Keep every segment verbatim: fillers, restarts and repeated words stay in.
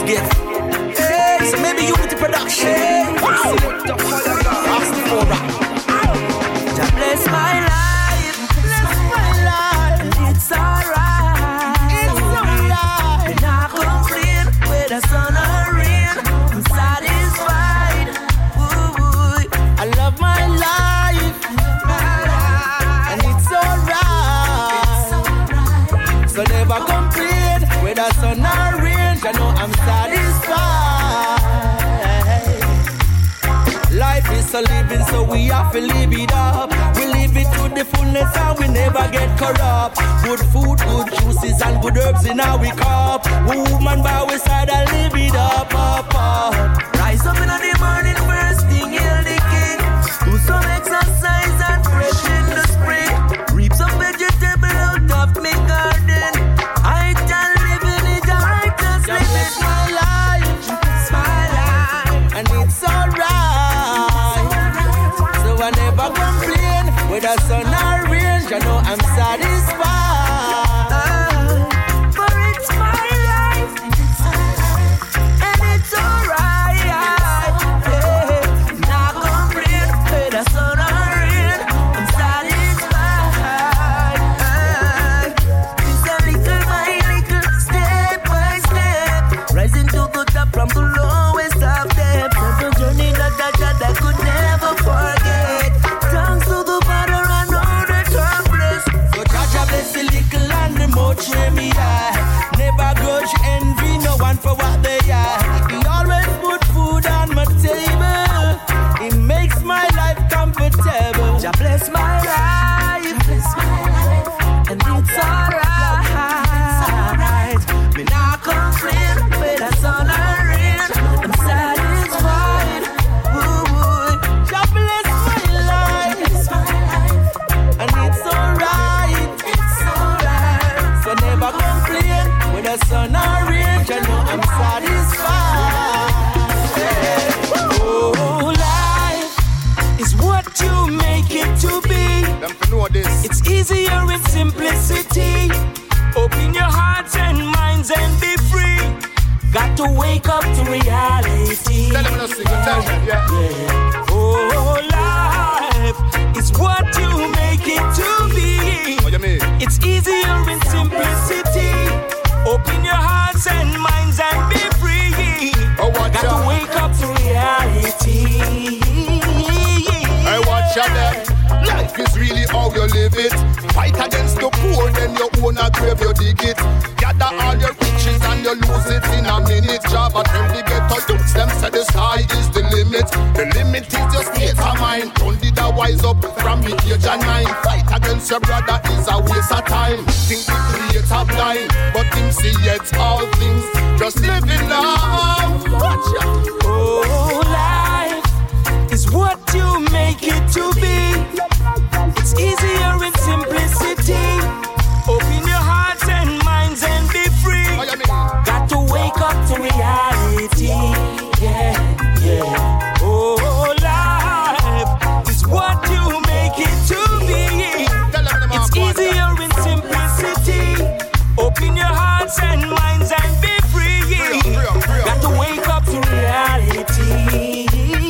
forget. Hey, so maybe Unity Production. Wow. God bless my life. Bless my life. It's alright. It's alright. And I complain with the sun or rain. I'm satisfied. Ooh, ooh. I love my life. And it's alright. So never complain with the sun or rain. I know I'm satisfied. Life is a living, so we have to live it up. We live it to the fullness and we never get corrupt. Good food, good juices and good herbs in our cup. Woman by our side and live it up, up, up. Rise up in the morning, first thing, hail the king. Do some exercise and fresh in the spring. Reap some vegetable out of my garden. I can live in it, I just live it. My life, it's my life, and it's alright. So I never complain with the sun or rain. You know I'm satisfied. For it's my life, and it's alright. Yeah. Not complain with the sun or rain. I'm satisfied. It's a little by little, step by step, rising to the top from the lowest of depths. It's a journey that that that I could never forget. Thanks to the Father, I know that I'm blessed. So Jaja bless the little and the much where me are. Never grudge, envy no one for what they are. He always put food on my table. It makes my life comfortable. Jah bless my life, bless my life, and it's alright. Me not complain with the sun or rain. I'm satisfied. Ooh, Jah bless my life, and it's alright. It's alright. So never complain with the sun or rain. You know I'm satisfied. Oh, life is what you make it to be. Them to know this. It's easier in simplicity. Open your hearts and minds and be free. Got to wake up to reality. Tell them no sing, tell them, yeah. Yeah. Oh, life is what you make it to be. What you mean? It's easier in simplicity. Open your hearts and minds and be free. Oh, watch Got out. to wake up to reality. Hey, watch out then. Life is really how you live it. Fight against the poor, then you own a grave, you dig it. Gather all your riches and you lose it in a minute. Job and tell the ghetto youths, them say the sky is the limit. The limit is your state of mind. Don't did a wise up from the age of nine. Fight against your brother is a waste of time. Think the creator blind, but him see yet all things. Just living love. Watch out. Oh, life is what you make it to be. It's easier in simplicity. Open your hearts and minds and be free. What you mean? Got to wake up to reality. Yeah, yeah. Oh, life is what you make it to be. Tell them them It's all, easier in simplicity. Open your hearts and minds and be free. Real, real, real. Got to wake up to reality.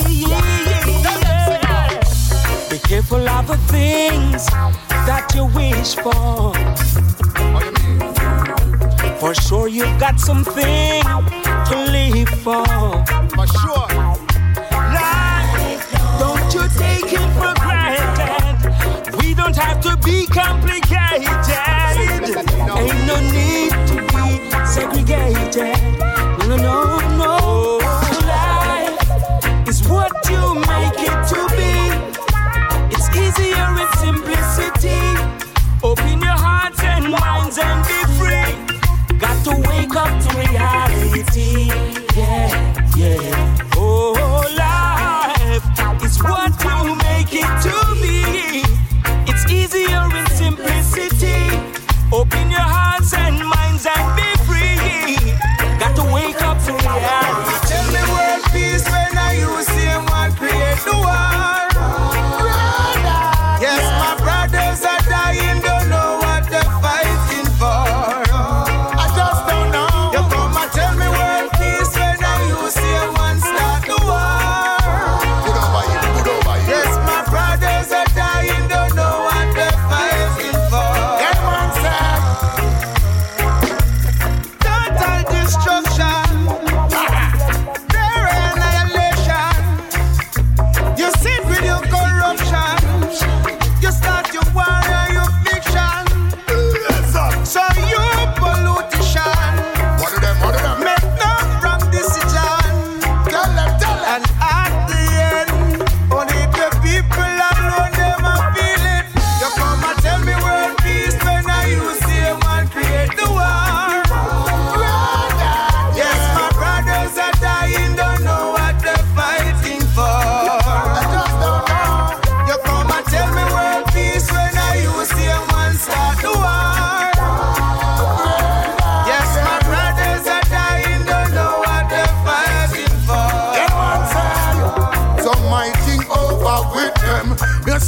Be careful of the things that you wish for. What you mean? For sure you've got something to live for. For sure. Life, don't you take it for granted. We don't have to be complicated. Ain't no need to be segregated. No, no, no. Life is what you make it to be. It's easier in simplicity. Open your hearts and minds and be free. Got to wake up to reality. Yeah, yeah. Oh, life is what you make it to be. It's easier in simplicity. Open your hearts and minds and be free. Got to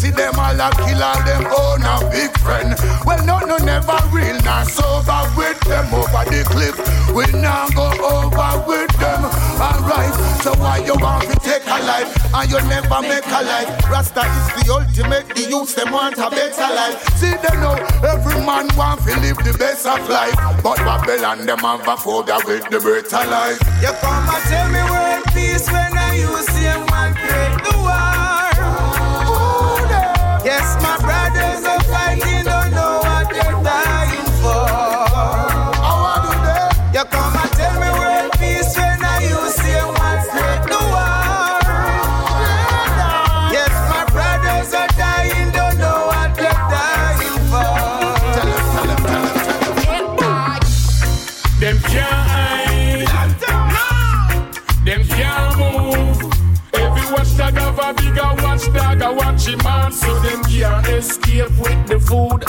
see them all a kill all them own a big friend. Well, no, no, never real, not sober with them over the cliff. We now go over with them. Alright, so why you want to take a life and you never make a life? Rasta is the ultimate, the youth them want a better life. See them now, every man want to live the best of life, but Babylon them have a phobia with the better life. You come and tell me world peace when I use same man create the war. Ooh, yes, my brothers are fighting, don't know what they're dying for. How I do that? You come and tell me world peace when I use same man create the war. Yes, my brothers are dying, don't know what they're dying for. Tell them, tell them, tell them, tell them. Them can't them can't move. Every watchdog have a bigger watchdog, a watch him man, so them can't escape with the food.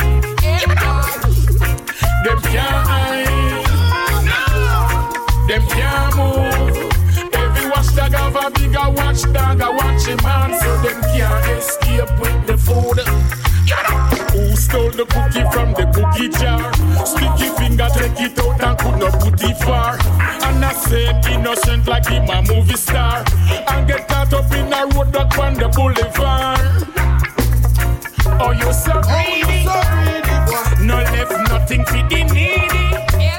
Them can't hide. Them can't move. Every watchdog have a bigger watchdog, a watch him man, so them can't escape with the food. Who stole the cookie from the cookie jar? Sticky finger take it out and could not put it far. And I said innocent like him a movie star, and get caught up in a road that on the boulevard. Oh, you so greedy, so greedy, no left nothing for the needy.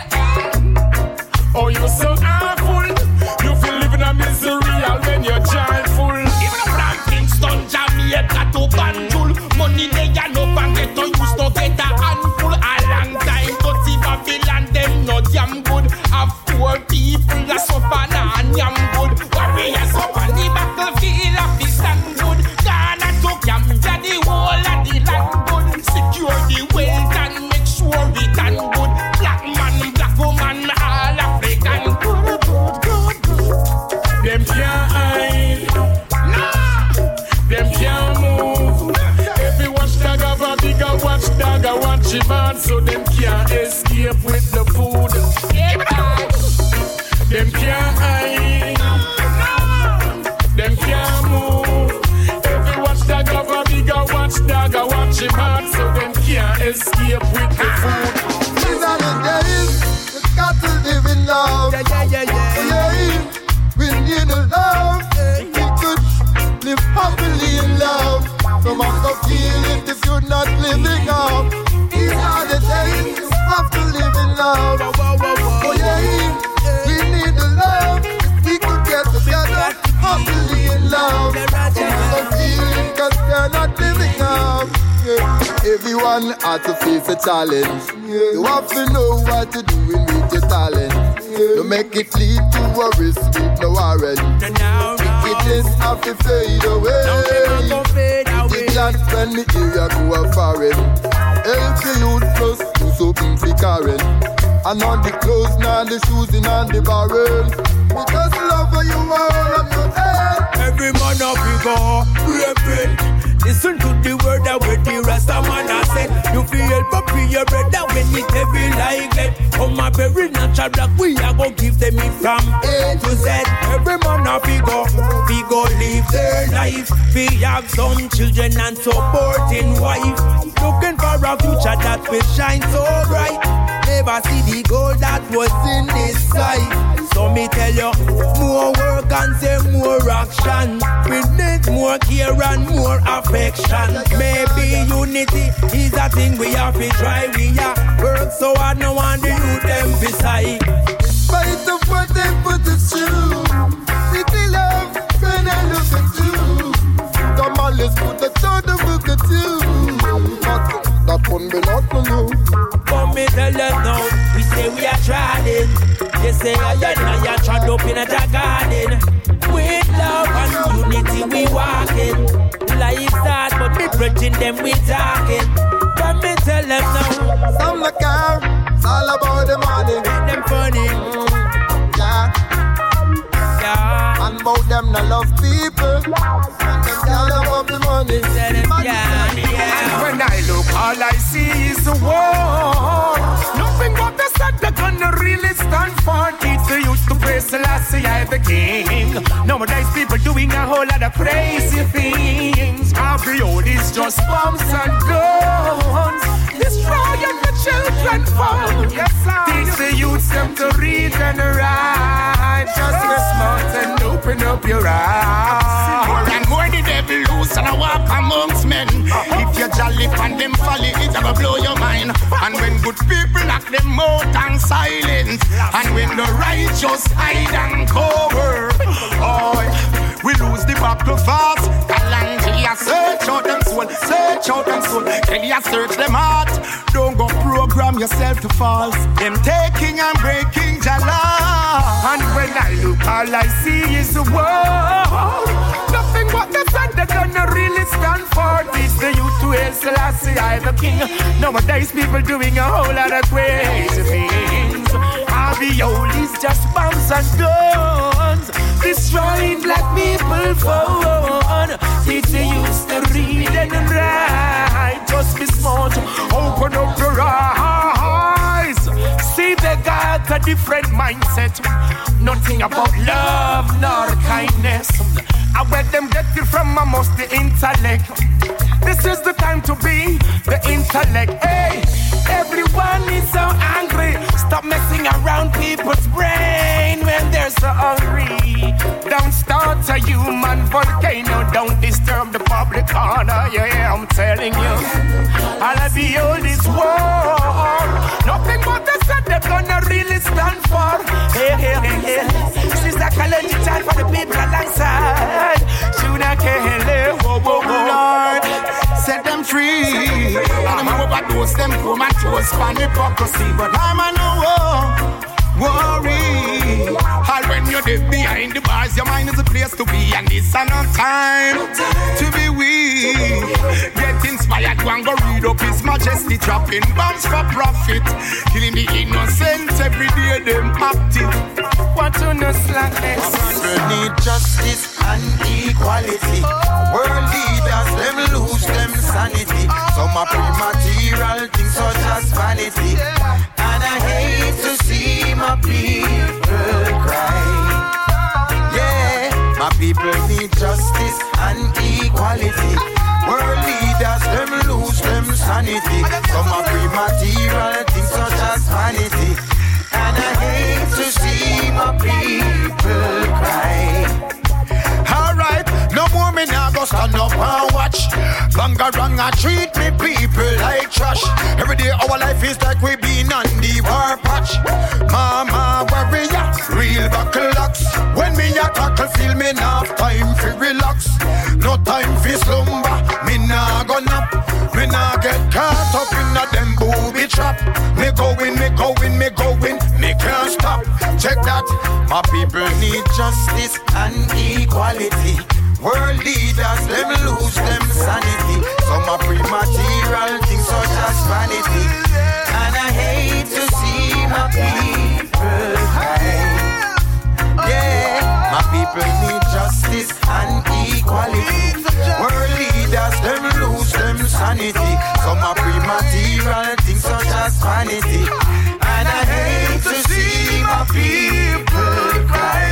Oh, you so awful, you feel living a misery all when you're joyful. Even a brand Kingston, Jamaica to Banjul, money they are no bank get to use to get a handful. A long time to see Babylon, them no damn good. Have poor people that suffer and yam good. Warriors up on the battlefield of the stand good. Ghana to Gambia, the whole of the land good. Secure the wealth and make sure we done good. Black man, black woman, all African good, good, good, good. Them can't hide, nah. Them can't move. Every watchdog have a bigger watchdog, a watch him man, so them can't escape with the food. Them can't hide, them can't move. Every watchdog have a bigger watchdog, a watch him man, so them can't escape with the food. These are the days, we got to live in love. Yeah, yeah, yeah, yeah. Yeah, we need a love. We could live happily in love. No matter feel it if you're not living up. These are the days, we have to live in love. Oh yeah, we need a love. We could get together happily in love. No matter feel it cause they're not living up. Yeah. Everyone has to face a challenge. Yeah. You have to know what to do with your talent. Yeah. You make it lead to a risk with no warrant. Wickedness have to fade away. The plant when the area go a foreign. Help the youth plus do something for Karen. And on the clothes now the shoes in and the barrel. Because love for you all of your head. Every man up you go, repent. Listen to the word that with the Rasta man I said. You feel help up in your brother when it heavy like that. Come a very natural black, we are gonna give them it from A to Z. Every man up you go, we go live their life. We have some children and supporting wife. Looking for a future that will shine so bright. Never see the gold that was in this sight. So me tell you, more work and say more action. We need more care and more affection. Maybe unity is a thing we have to try. We are work so hard, no one the youth them beside. Fight of what they put us through. City love, when I look at you. Come on, let's put the third of look at you. That one be not for you. Come me tell them now, we say we are trying. They say I and I are trod up in a garden. With love and unity we walking. Life start but we preaching them we talking. Come me tell them now. Some the car, it's all about the money. Make them funny. Mm, yeah. Yeah. And about them not love people. And them all about the money. Yeah, yeah. When I look, all I see is the war. Nothing but the sad that gonna really stand for. Teach the youth to praise Selassie, I the king. Nowadays people doing a whole lot of crazy things. Our the old is just bombs and guns. Destroying the children fall. Yes, sir. Teach the youths them to read and write. Just be smart and open up your eyes. More and more the devil loose and I walk amongst men. If you're jolly and them folly, it's gonna blow your mind. And when good people knock them out and silence, and when the righteous hide and cover, oh, we lose the battle fast. Kalangia search out them soul, search out them soul. Kelia search them heart. Don't go program yourself to false. Them taking and breaking Jala. And when I look, all I see is the world. Nothing but the sun they're gonna really stand for. Teach the youth to hail Selassie, I the king. Nowadays people doing a whole lot of crazy things. All the old is just bombs and guns, destroying black people phone. Teach the youth to read and write. Just be smart, open up your eyes. See they got a different mindset. Nothing about love nor kindness. I bet them get it from almost the intellect. This is the time to be the intellect. Hey, everyone is so angry. Stop messing around people's brain when they're so hungry. Don't start a human volcano. Don't disturb the public order. Yeah, I'm telling you. All of the oldest war. Nothing but the set they're gonna really stand for. Hey, hey, hey, hey. This is a collective time for the people alongside. Shuna Kele, whoa, whoa, whoa. Lord, set them free. I'm overdose them from my toes for hypocrisy. But I'm a no worry. All when you're dead behind the bars, your mind is a place to be. And this is no time to be weak. Get inspired, go and go read up His Majesty. Dropping bombs for profit, killing the innocent every day, them active. Want to know slackness? People need justice and equality. World leaders, them lose them sanity. Some are pre-material things such as vanity. And I hate to see my people cry. Yeah, my people need justice and equality. World leaders, them lose them sanity. Some are pre-material things such as vanity. And I hate to see my people cry. Alright, no more me now go stand up and watch. Bangaranga treat me people like trash. Every day our life is like we been on the war patch. Mama warrior, real buckle locks. When me a tackle, feel me now time for relax. No time for slumber, me nah go nap. Me nah get caught up in a them booby trap. Me going, me going, me going, me can't stop. Check that, my people need justice and equality. World leaders, them lose them sanity. Some are pre-material things such as vanity. And I hate to see my people cry. Yeah, my people need justice and equality. World leaders, them lose them sanity. Some are pre-material things such as vanity. And I hate to see my people cry.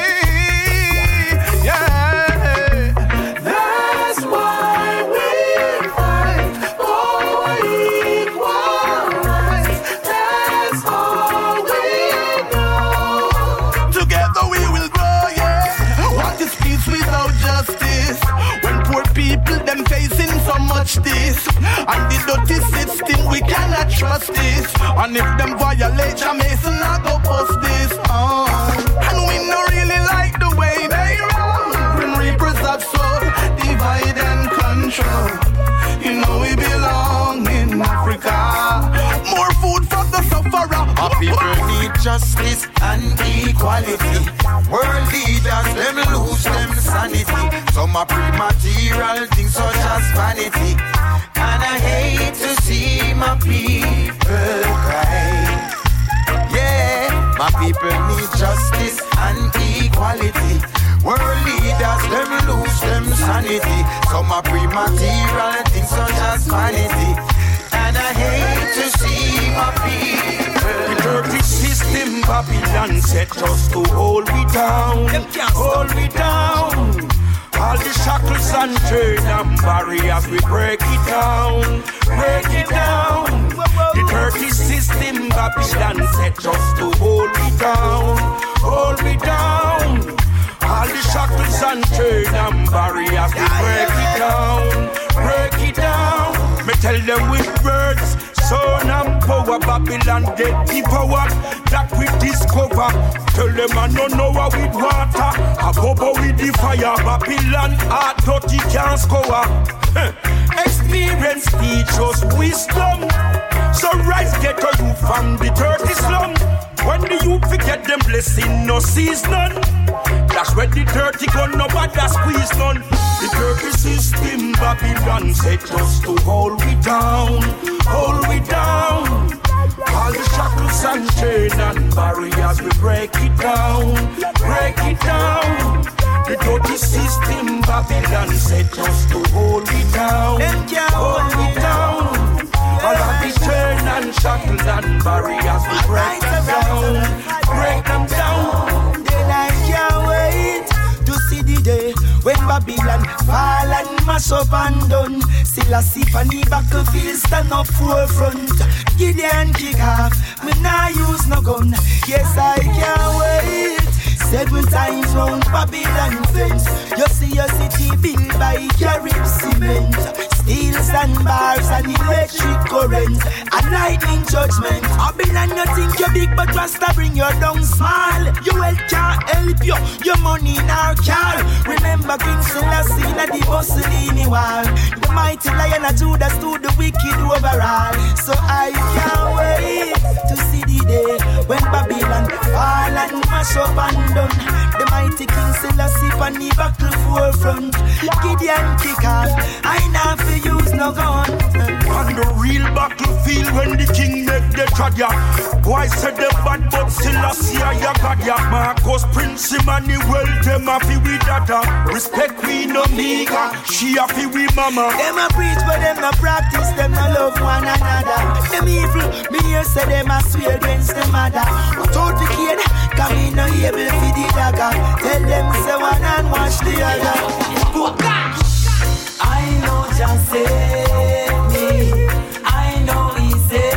Yeah, that's why we fight for equal rights. That's all we know. Together we will grow, yeah. What is peace without justice? When poor people them facing so much this, and the dirty system we cannot trust this. And if them violate Jamaican, I go bust this. Oh. And we no really like the way they run. Grim Reapers have so divide and control. You know we belong in Africa. More food for the sufferer. Our people need justice and equality. World leaders, them lose them sanity. Some are pre-material things such as vanity. And I hate to see my people cry. Yeah, my people need justice and equality. World leaders, them lose them sanity. Some are pre-material things such as vanity. And I hate to see my people. The dirty system Babylon set us to hold we down, hold we down. All the shackles and chains and barriers, we break it down, break it down. The dirty system Babylon set us to hold it down, hold it down. All the shackles and chains and barriers, we break it down, break it down. Me tell them with words, son and power, Babylon get the power that we discover. Tell them I don't know how with water, a bubble with the fire. Babylon hard dirty can't score. Experience teach us wisdom. So rise get a youth from the dirty slum. When the youth forget them blessing no season, that's when the dirty gun nobody squeeze none. The dirty system Babylon set us to hold we down, hold we down. All the shackles and chains and barriers we break it down, break it down. The dirty system Babylon set us to hold it down, hold it down. All of the chains and shackles and barriers we break them down, break them down. Then I can't wait to see the day when Babylon fall and mash up and done. Still a sip and the battlefield stand up forefront. Gideon kick off, me nah use no gun. Yes, I can't wait. Seven times round Babylon fence. You see your city built by Carib cement. Steel sandbars and electric current. A lightning judgment. Babylon you think you're big but Rasta bring you down small. Your wealth can't help you, your money in our car. Remember King Selassie na the Mussolini war. The mighty lion of Judah stood the wicked overall. So I can't wait to see the day when Babylon fall and mash up and done. The mighty King Selassie on the battle forefront. Gideon kick off, I not fi use no gun. On the real battlefield when the king make the trad ya. Boy said the bad but Selassie I got ya. Marcus Prince Emmanuel them a fi we dada. Respect we no nigga, she a fi we mama. Them a preach but them no practice, them no love one another. Them evil, me hear say them a swear against the mother. But out the kid, cause me no able fi the dagger. Tell them say one and watch the other. I know just save me. I know he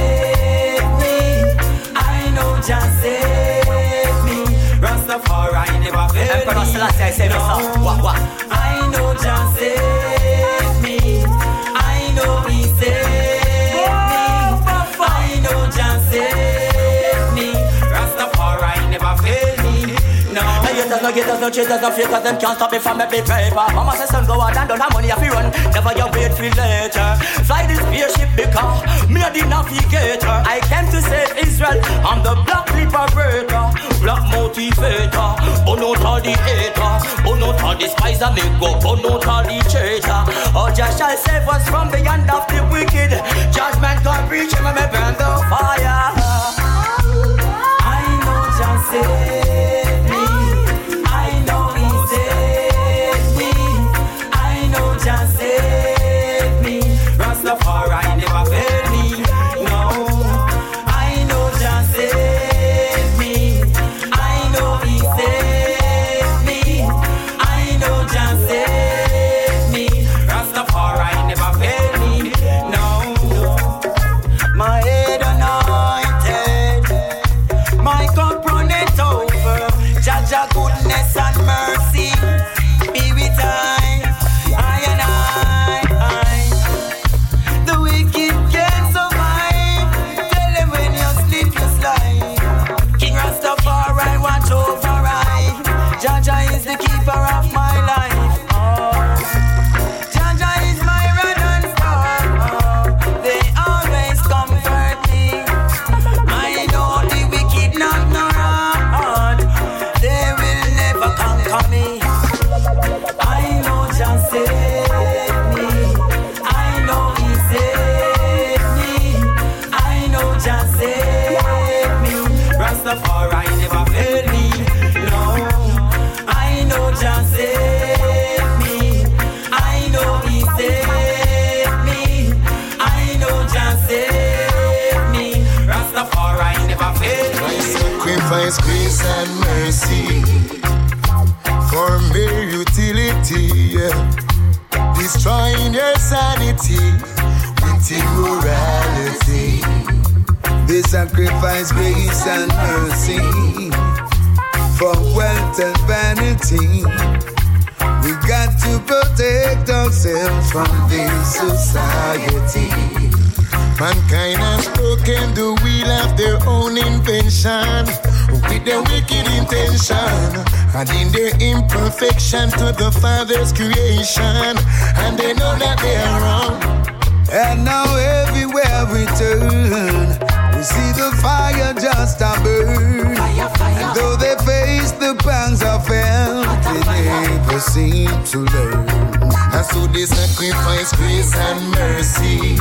saved me. I know just save me. Rastafari never failed me. Emperor Selassie, I say no. What, what? I know just save me. I know he saved me. I know just save me. Rastafari never failed me. No. Haters, no haters, no cheaters, no fakers, them can't stop me from making paper. Mama says son go out and don't have money if you run. Never you wait for later. Fly this spaceship because me a the navigator. I came to save Israel. I'm the black liberator, black motivator. Burn out all the hater, burn out all the spies and make go, burn out all the traitor. Oh, just shall save us from the hand of the wicked. Judgment can reach him and me burn the fire. I know just save. Just save me. Rastafari never failed me. No, I know just save me. I know he saved me. I know just save me. Rastafari never failed me. No, my head anointed, my cup runneth over. Jaja goodness and mercy be with I. Jaja is the keeper of my life. Oh. Jaja is my rod and star. Oh. They always comfort me. I know the wicked not nor hard. They will never conquer me. I know just save me. I know he saved me. I know just save me. Rastafari never failed me. No. Just save me. I know he saved me. I know just save me. Rastafari never failed me. My sacrifice, grace and mercy for mere utility. reality, yeah. Destroying your sanity with immorality. They sacrifice grace and mercy for wealth and vanity. We got to protect ourselves from this society. Mankind has broken the wheel of their own invention with their wicked intention, adding their imperfection to the Father's creation, and they know that they are wrong. And now everywhere we turn, we see the fire just a burn. Fire, fire. And though they face the pangs of hell, they never seem to learn. And so they sacrifice grace and mercy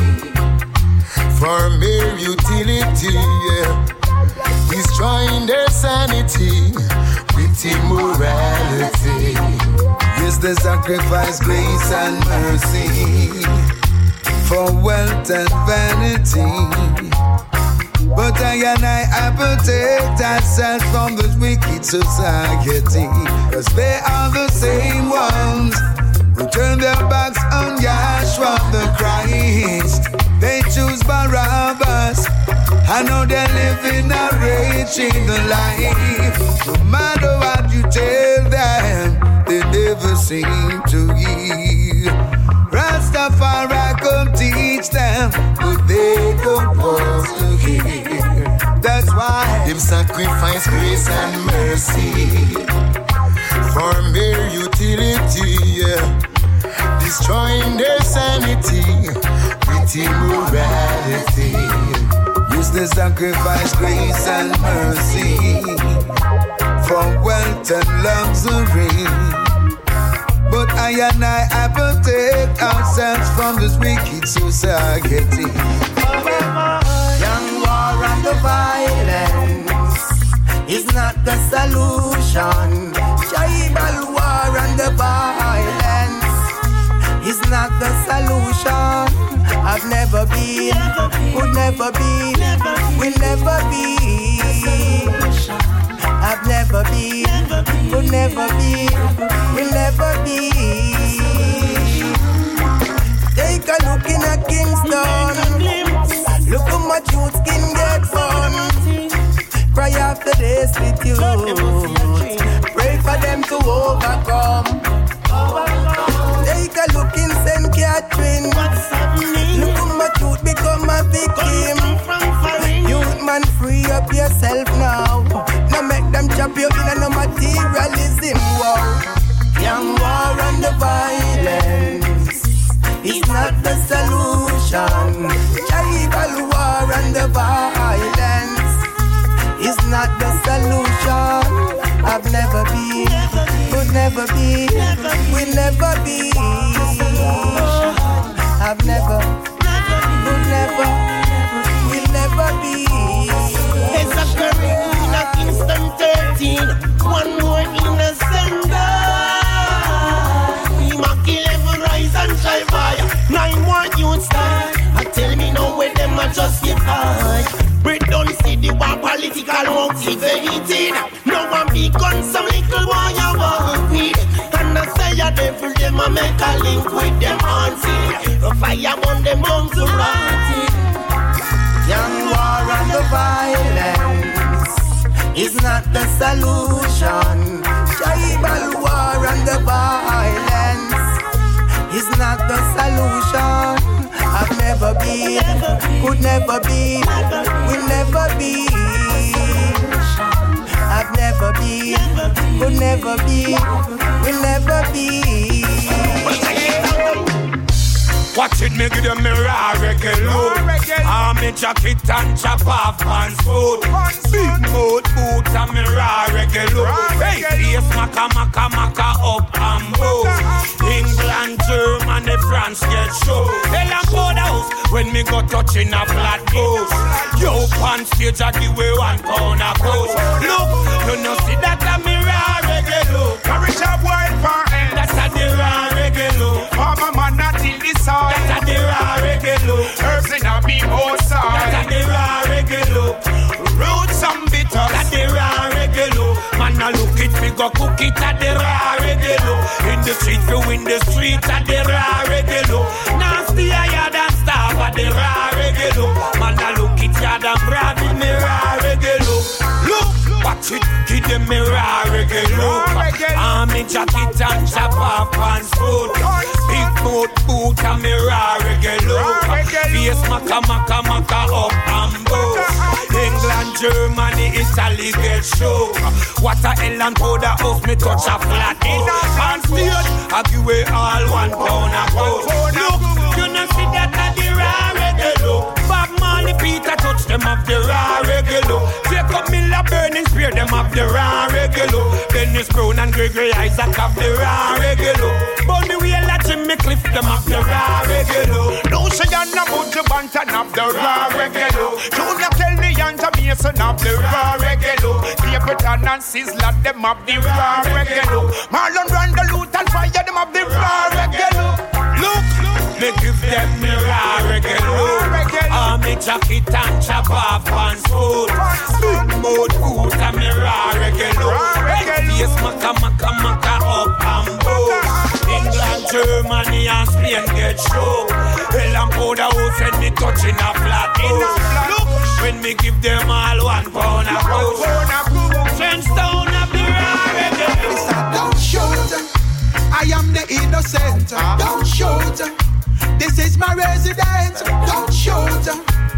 for mere utility, yeah. Destroying their sanity with immorality. Yes, they sacrifice grace and mercy for wealth and vanity. But I and I, I protect ourselves from this wicked society, cause they are the same ones who turn their backs on Yahshua the Christ. They choose Barabbas. I know they're living a raging life. No matter what you tell them, they never seem to hear. Rastafari come teach them, but they don't want to hear. That's why them sacrifice grace and mercy for mere utility, yeah. Destroying their sanity with immorality. Use the sacrifice grace and mercy for wealth and luxury. But I and I, I protect ourselves from this wicked society. Young war and the violence is not the solution. Tribal war and the violence is not the solution. I've never been, would never be, will never be. I've never been, would never be, will never be. Take a look in a Kingston. Look how much youth skin get burned. Cry after this with you. Pray for them to overcome. Take a look in Saint Catherine. Look how much youth become a victim. Youth man, free up yourself now. Now make them chop you in a no materialism war. Young war and the violence is not the solution. Tribal war and the violence is not the solution. I've never been, could never be, will never be. I've never, could never, will never be. It's a career in a Kingston thirteen. One more innocent die. We might kill every rise and try fire. Nine more youths die. I tell me now where them are justified. We don't see the war political motivated. No one become some little boy you walk with. And I say a devil them a make a link with them haunted. The fire on them homes to rotted. Young war and the violence is not the solution. Tribal war and the violence is not the solution. I've never been, could never be, will never be. I've never been, could never be, will never be. Watch it, me give them me raw reggae load. Arm me jacket and chop off pants food. Big mode boots and me raw reggae load. Hey, face maka maka maka up and bow. England, Germany, France get show. Hell and powder house when me go touching a flat post. Yo, pan stage I give away one pound a coast. Look, you know see that a me raw reggae load. Courage up wild for end. That's a the raw reggae load. Mama man not in the soil. That's a the raw reggae load. Herbs in a big old soil. That's a the raw reggae load. Roots and bitters. That's the raw reggae load. Man a look it big go cook it at the raw regular. In the street, we win the street at the raw regular. Nasty higher than staff at the raw regular. Man, I look it yard and brand in the raw regular. Look, watch it, give them me raw regular. I'm in jacket and chop off pants food. Big boat boot and me raw regular. Face maka maka maka up and boat. England, Germany, Italy get show. What a hell and powder house me touch a flat in. And still, I give away all one pound a pound. Look, you know see that at the raw regular. Bob Marley, Peter touch them up the raw regular. Take up Miller, Burning Spear them up the raw regular. Dennis Brown and Gregory Isaac have the raw regular. Bunny Wheel and Jimmy Cliff them up the raw regular. No say you're not about to bantan up the raw regular. Junior tell me and Mason up the raw regular. Capleton and Sizzler them up the raw regular. Marlon Randall and Fire them up the raw regular. Look, me give them me raw regular. I'm a jacket and chop off pants food. Big mouth food and me raw regular. Face maka maka maka up and boat. England, Germany and Spain get show. Hell and powder house when me touching a flat house. Look, when me give them all one pound a pound. Trench down a the raw regular. Don't shoot, I am the innocent. Don't shoot, this is my residence. Don't shoot,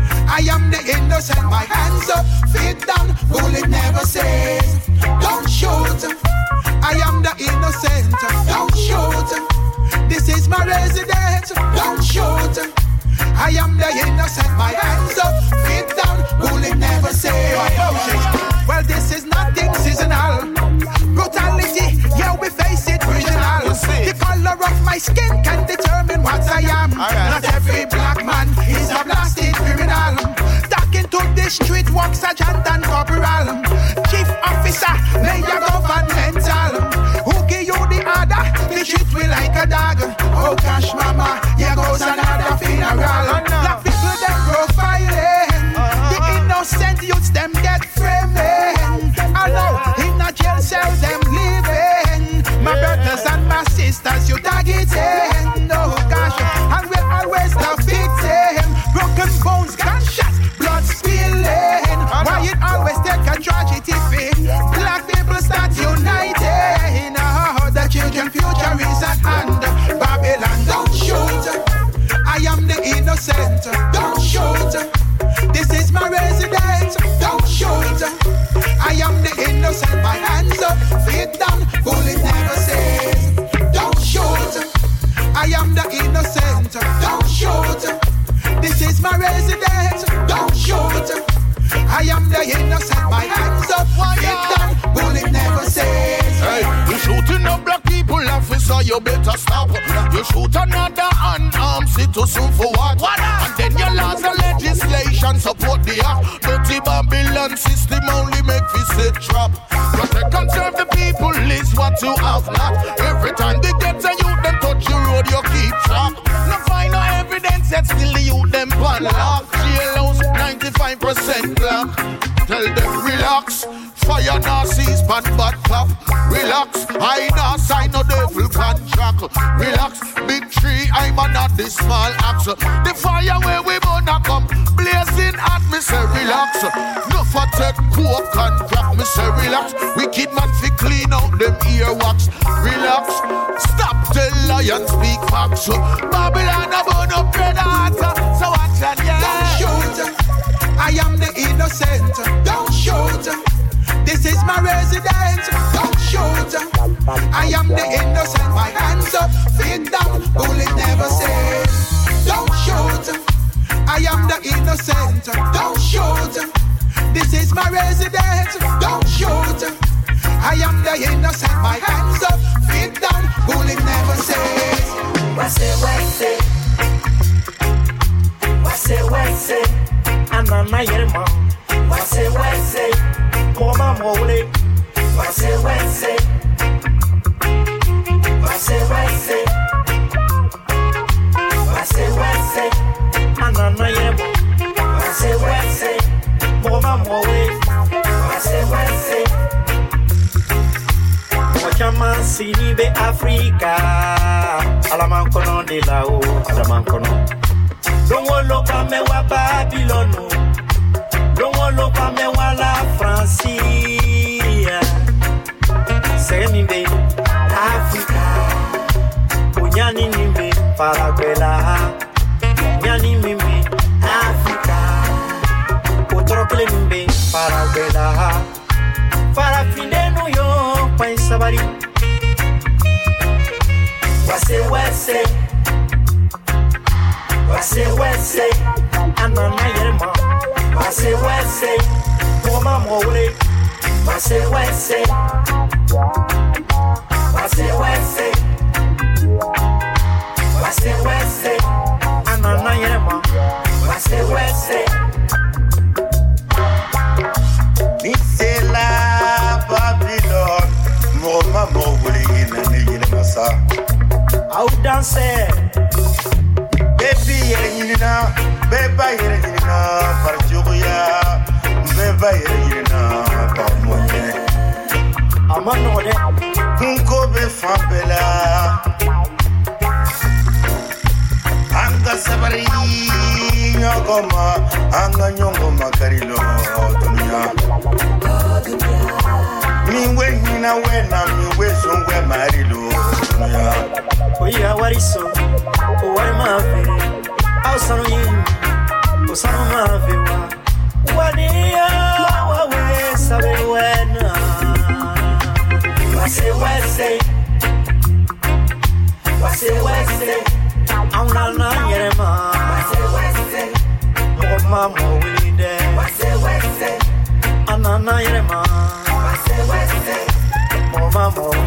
I am the innocent. My hands up, feet down, bullet never says. Don't shoot, I am the innocent. Don't shoot, this is my residence. Don't shoot, I am the innocent. My hands up, feet down, bullet never says. Well, this is nothing seasonal. Brutality, yeah, we face it original. The color of my skin can determine what I am. Right. Not every black man is a blasted criminal. Talking to the street, walk sergeant and corporal. Chief officer, mayor governmental. Who give you the order? They treat me like a dog. Oh gosh, mama, here goes another funeral. Black people, them profiling. The innocent youths, them get framing. I know, in a jail cell, them living. My brothers and my sisters, you targeting. Oh gosh, and we always the victim. Broken bones, gunshots, blood spilling. Why it always take a tragedy fit? Black people start uniting. Oh, the children's future is at hand. Babylon, don't shoot, I am the innocent. Don't shoot, this is my residence. Don't shoot, I am the innocent. My hands up, feet down, bullet never says. Don't shoot, I am the innocent. Don't shoot, this is my residence. Don't shoot, I am the innocent. My hands up, feet down, bullet never says. Hey, you shooting up black people, officer, you better stop. You shoot another unarmed citizen for what? what and then you laws the legislation support the act. Dirty Babylon system only make me sit trap. Protect and serve the people is what you have not. Every time they get a youth, them touch your road, you keep track. No find no evidence yet, still the youth, them pan lock. Jailhouse, ninety-five percent black. Tell them relax. Fire Nazis, bad bad clap. Relax, I not sign no devil contract. Relax, big tree, I'm a not this small axe. The fire where we gonna come, blazing at me say relax. No for take coke contract, me say relax. Wicked man fi clean out them earwax. Relax, stop the lion speak facts. Babylon a burn up red heart, so watch and yeah. Don't shoot, I am the innocent. Don't shoot, this is my residence. Don't shoot, I am the innocent. My hands up, feet down, bullet never says. Don't shoot, I am the innocent. Don't shoot, this is my residence. Don't shoot, I am the innocent. My hands up, feet down, bullet never says. What's it, what's it? What's it, what's it? I'm on my mom. What's it, what's it? Mama mole. What's it, what's it? What's it, what's it? What's it, what's it? I'm on my mom. What's it, what's it? Mama mole. What's it, what's it? Yaman Sinibe Africa. Alaman kono de la o, alaman kono. Longo loka me wa Babylon. Longo loka me wa la Francia. Senibe Africa. Unyani nimbe Paraguela. Nyani mimbe Africa. Utrokle nimbe Paraguela. Para fine New York, pa sabari. Wase wase, wase wase, anana yerma. Wase wase, koma mole. Wase wase, wase wase, wase wase, anana yerma. Wase wase. Misela Babylon, mo mamo wuli ina ni ina masa. Au danser, baby yere ina, beba yere ina, parjuya, beba yere ina, pamoye. amano de, Unko be fambela, anga sabari nyogoma, anga nyongoma karilo dunia. Miwe hina wena miwe songwe marilo dunia. oya wariso, o wari mafe, au sanu yin, o sanu mafe wa, wania wawe sabe wena. Wase wase, wase wase, auna na yerema. Wase wase, mo mamo wilide. Wase wase, anana yerema. Wase wase, mo mamo